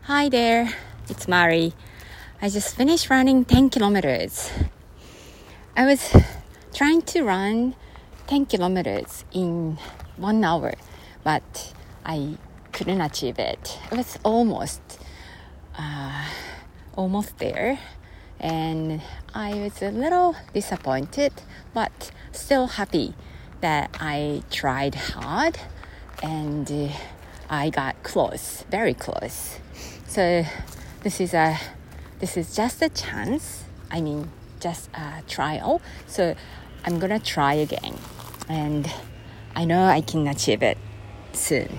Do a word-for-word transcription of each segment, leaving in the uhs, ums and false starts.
Hi there, it's Mari. I just finished running ten kilometers. I was trying to run ten kilometers in one hour, but I couldn't achieve it. It was almost, uh, almost there, and I was a little disappointed, but still happy that I tried hard and uh, I got close, very close. So this is a, this is just a chance. I mean, just a trial. So I'm gonna try again, and I know I can achieve it soon.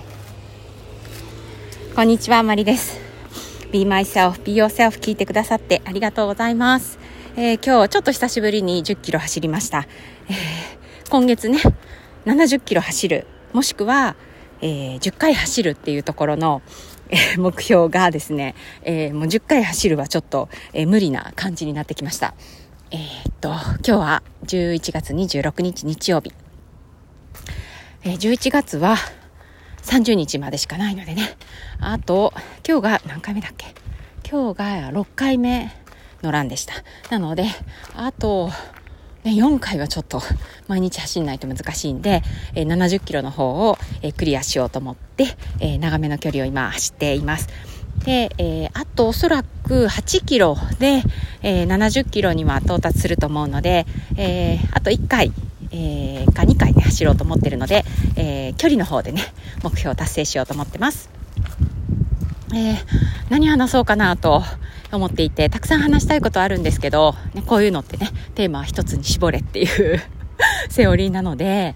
こんにちは、マリです。Be myself, be yourself 聞いてくださってありがとうございます。えー、今日ちょっと久しぶりにじゅっキロ走りました。えー、今月ね、ななじゅっキロ走る、もしくは、えー、じゅっかい走るっていうところの、えー、目標がですね、えー、もうじゅっかい走るはちょっと、えー、無理な感じになってきました。えー、っと今日はじゅういちがつにじゅうろくにち日曜日、えー、じゅういちがつはさんじゅうにちまでしかないのでね、あと今日が何回目だっけ、今日がろっかいめのランでした。なのであとね、よんかいはちょっと毎日走んないと難しいんで、えー、ななじゅっキロの方を、えー、クリアしようと思って、えー、長めの距離を今走っています。で、えー、あとおそらくはちキロで、えー、ななじゅっキロには到達すると思うので、えー、あといっかい、えー、かにかいね走ろうと思ってるので、えー、距離の方でね目標を達成しようと思ってます。えー、何話そうかなと思っていて、たくさん話したいことあるんですけど、ね、こういうのってねテーマは一つに絞れっていうセオリーなので、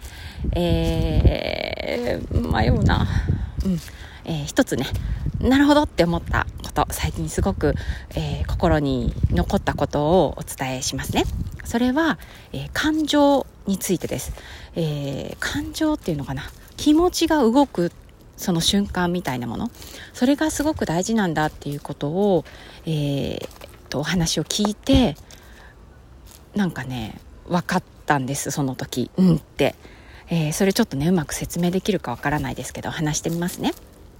えー、迷うな、うんえー、一つねなるほどって思ったこと、最近すごく、えー、心に残ったことをお伝えしますね。それは、えー、感情についてです。えー、感情っていうのかな、気持ちが動くその瞬間みたいなもの、それがすごく大事なんだっていうことを、えー、とお話を聞いて、なんかね分かったんです。その時うんって、えー、それちょっとねうまく説明できるかわからないですけど話してみますね。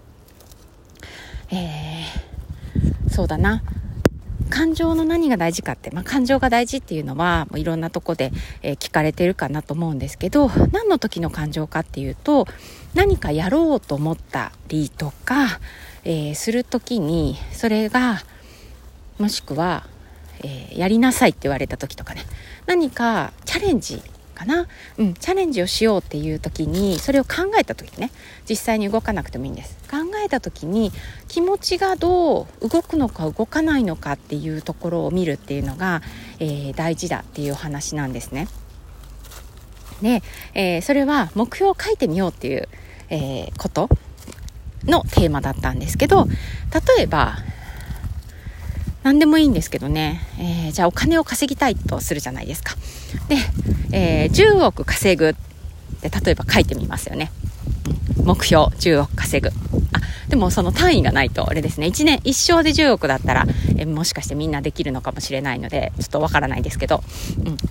えー、そうだな、感情の何が大事かって、まあ、感情が大事っていうのはもういろんなとこで、えー、聞かれてるかなと思うんですけど、何の時の感情かっていうと、何かやろうと思ったりとか、えー、する時にそれがもしくは、えー、やりなさいって言われた時とかね、何かチャレンジかな、うん、チャレンジをしようっていう時に、それを考えた時ね、実際に動かなくてもいいんです。考えた時に気持ちがどう動くのか動かないのかっていうところを見るっていうのが、えー、大事だっていうお話なんですね。で、えー、それは目標を書いてみようっていう、えー、ことのテーマだったんですけど、例えば何でもいいんですけどね、えー、じゃあお金を稼ぎたいとするじゃないですか。で、えー、じゅうおく稼ぐって例えば書いてみますよね。目標じゅうおく稼ぐ。あ、でもその単位がないとあれですね。いちねん一生でじゅうおくだったら、えー、もしかしてみんなできるのかもしれないのでちょっとわからないですけど、うん、えー、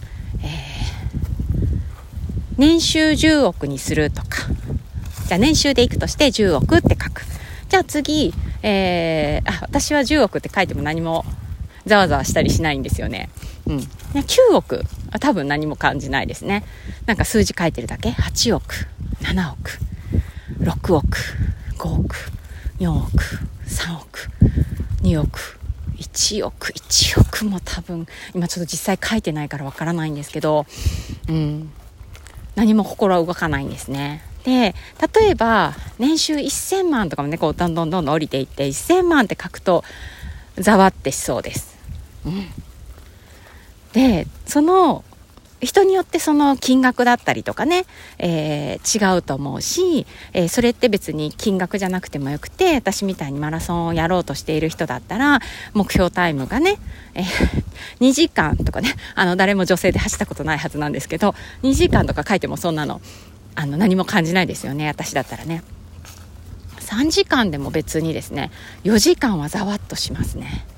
年収じゅうおくにするとか、じゃあ年収でいくとしてじゅうおくって書く。じゃあ次、えー、あ私はじゅうおくって書いても何もざわざわしたりしないんですよね。うん、きゅうおくは多分何も感じないですね。なんか数字書いてるだけ。はちおく、ななおく、ろくおく、ごおく、よんおく、さんおく、におく、いちおく、いちおくも多分今ちょっと実際書いてないからわからないんですけど、うん、何も心は動かないんですね。で、例えば年収せんまんとかもね、こうどんどんどんどん降りていってせんまんって書くとざわってしそうです。うん、で、その人によってその金額だったりとかね、えー、違うと思うし、えー、それって別に金額じゃなくてもよくて、私みたいにマラソンをやろうとしている人だったら目標タイムがね、えー、にじかんとかね、あの誰も女性で走ったことないはずなんですけど、にじかんとか書いてもそんなのあの何も感じないですよね。私だったらね、さんじかんでも別にですね、よじかんはざわっとしますね。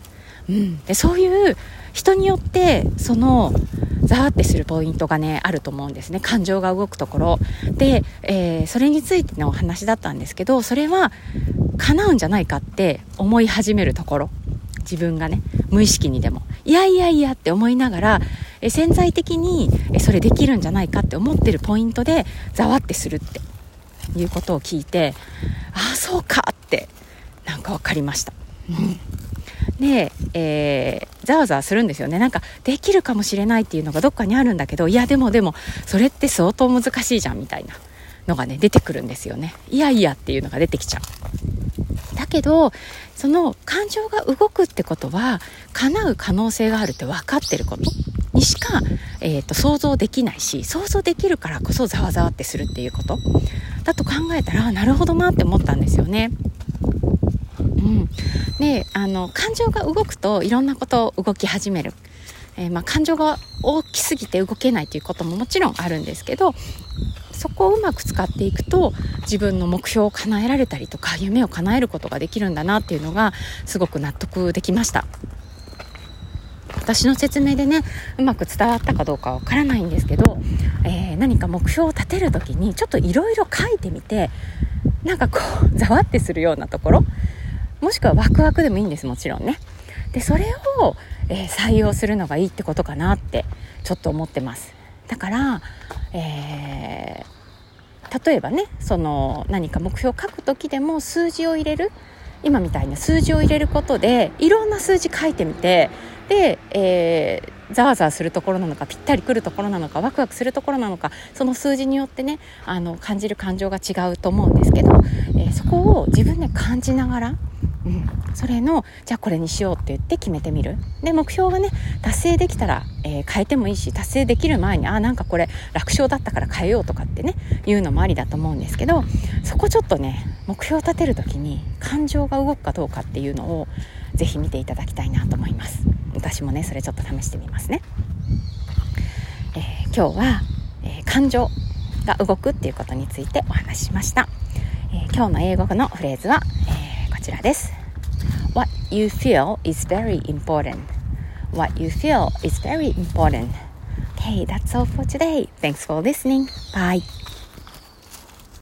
うん、でそういう人によってそのザーってするポイントがねあると思うんですね。感情が動くところで、えー、それについてのお話だったんですけど、それは叶うんじゃないかって思い始めるところ、自分がね無意識にでもいやいやいやって思いながら、え潜在的にえそれできるんじゃないかって思ってるポイントでざわってするっていうことを聞いて、ああそうかってなんか分かりました。うんで、えー、ざわざわするんですよね。なんかできるかもしれないっていうのがどっかにあるんだけど、いやでもでもそれって相当難しいじゃんみたいなのがね出てくるんですよね。いやいやっていうのが出てきちゃう。だけどその感情が動くってことは叶う可能性があるって分かってることにしか、えーと、想像できないし、想像できるからこそざわざわってするっていうことだと考えたら、なるほどなって思ったんですよね。うん、であの感情が動くといろんなことを動き始める、えーまあ、感情が大きすぎて動けないということももちろんあるんですけど、そこをうまく使っていくと自分の目標を叶えられたりとか夢を叶えることができるんだなっていうのがすごく納得できました。私の説明でねうまく伝わったかどうかわからないんですけど、えー、何か目標を立てるときにちょっといろいろ書いてみて、なんかこうざわってするようなところ、もしくはワクワクでもいいんです、もちろんね。でそれを、えー、採用するのがいいってことかなってちょっと思ってます。だから、えー、例えばねその何か目標を書くときでも数字を入れる、今みたいな数字を入れることでいろんな数字書いてみて、で、えー、ざわざわするところなのかぴったりくるところなのかワクワクするところなのか、その数字によってねあの感じる感情が違うと思うんですけど、えー、そこを自分で感じながら、うん、それのじゃあこれにしようって言って決めてみる。で目標がね達成できたら、えー、変えてもいいし、達成できる前にあなんかこれ楽勝だったから変えようとかってねいうのもありだと思うんですけど、そこちょっとね目標を立てるときに感情が動くかどうかっていうのをぜひ見ていただきたいなと思います。私もねそれちょっと試してみますね。えー、今日は、えー、感情が動くっていうことについてお話ししました。えー、今日の英語のフレーズは、えー、こちらです。 What you feel is very important. What you feel is very important. Okay, that's all for today. Thanks for listening. Bye.